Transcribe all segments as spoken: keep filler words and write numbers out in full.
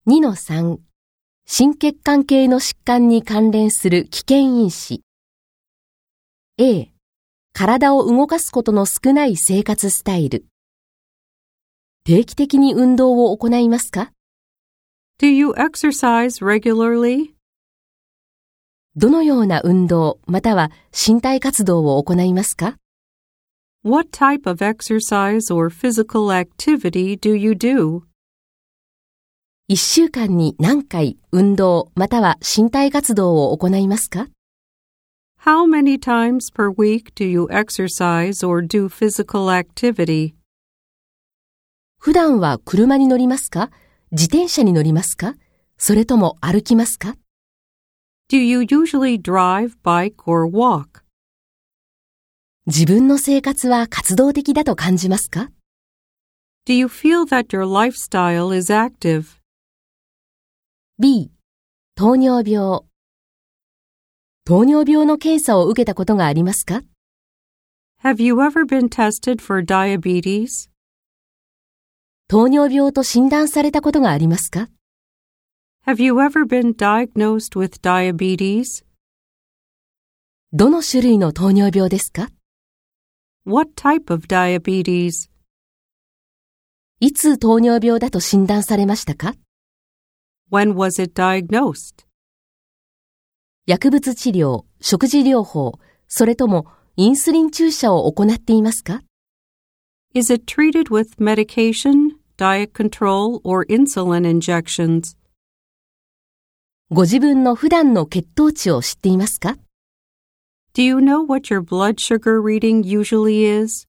にのさん、心血管系の疾患に関連する危険因子。A、体を動かすことの少ない生活スタイル。定期的に運動を行いますか？ Do you exercise regularly? どのような運動または身体活動を行いますか？ What type of exercise or physical activity do you do? いっしゅうかんに何回運動または身体活動を行いますか？ How many times per week do you exercise or do physical activity? 普段は車に乗りますか？自転車に乗りますか？それとも歩きますか？ Do you usually drive, bike, or walk? 自分の生活は活動的だと感じますか？ Do you feel that your lifestyle is active? B、糖尿病。糖尿病の検査を受けたことがありますか？ Have you ever been tested for diabetes? 糖尿病と診断されたことがありますか？ Have you ever been diagnosed with diabetes? どの種類の糖尿病ですか？ What type of diabetes? いつ糖尿病だと診断されましたか？ When was it diagnosed? 薬物治療、食事療法、それともインスリン注射を行っていますか？ Is it treated with medication, diet control, or insulin injections? ご自分の普段の血糖値を知っていますか？ Do you know what your blood sugar reading usually is?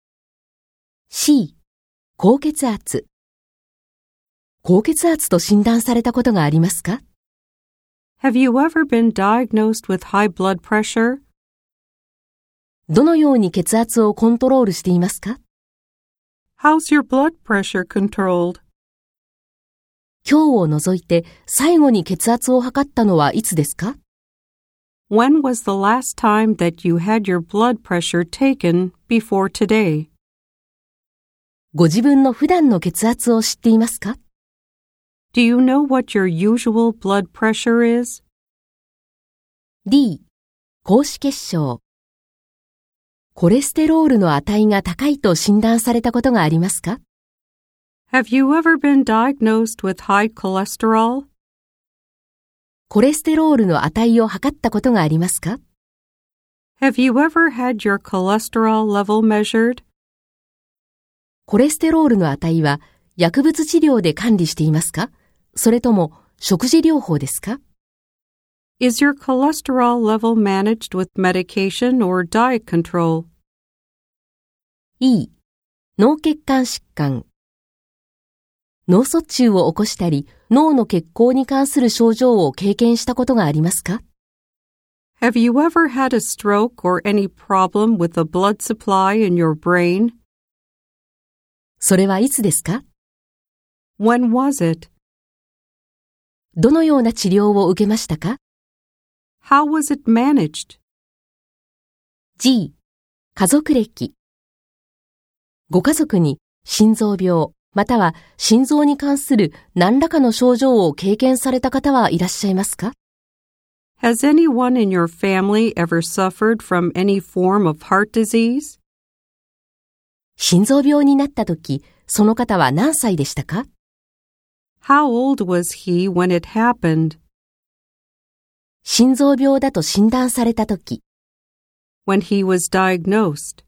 C、高血圧。高血圧と診断されたことがありますか？ Have you ever been diagnosed with high blood pressure? どのように血圧をコントロールしていますか？ How's your blood pressure controlled? 今日を除いて最後に血圧を測ったのはいつですか？ When was the last time that you had your blood pressure taken before today? ご自分の普段の血圧を知っていますか？ Do you know what your usual blood pressure is? D、高脂血症。コレステロールの値が高いと診断されたことがありますか？ Have you ever been diagnosed with high cholesterol? コレステロールの値を測ったことがありますか？ Have you ever had your cholesterol level measured? コレステロールの値は薬物治療で管理していますか？それとも食事療法ですか？ Is your cholesterol level managed with medication or diet control? E、脳血管疾患。脳卒中を起こしたり、脳の血行に関する症状を経験したことがありますか？ Have you ever had a stroke or any problem with the blood supply in your brain? それはいつですか？ When was it? どのような治療を受けましたか？ How was it managed? G、家族歴。ご家族に心臓病または心臓に関する何らかの症状を経験された方はいらっしゃいますか？ Has anyone in your family ever suffered from any form of heart disease? 心臓病になった時、その方は何歳でしたか？ How old was he when it happened? 心臓病だと診断された時。 When he was diagnosed.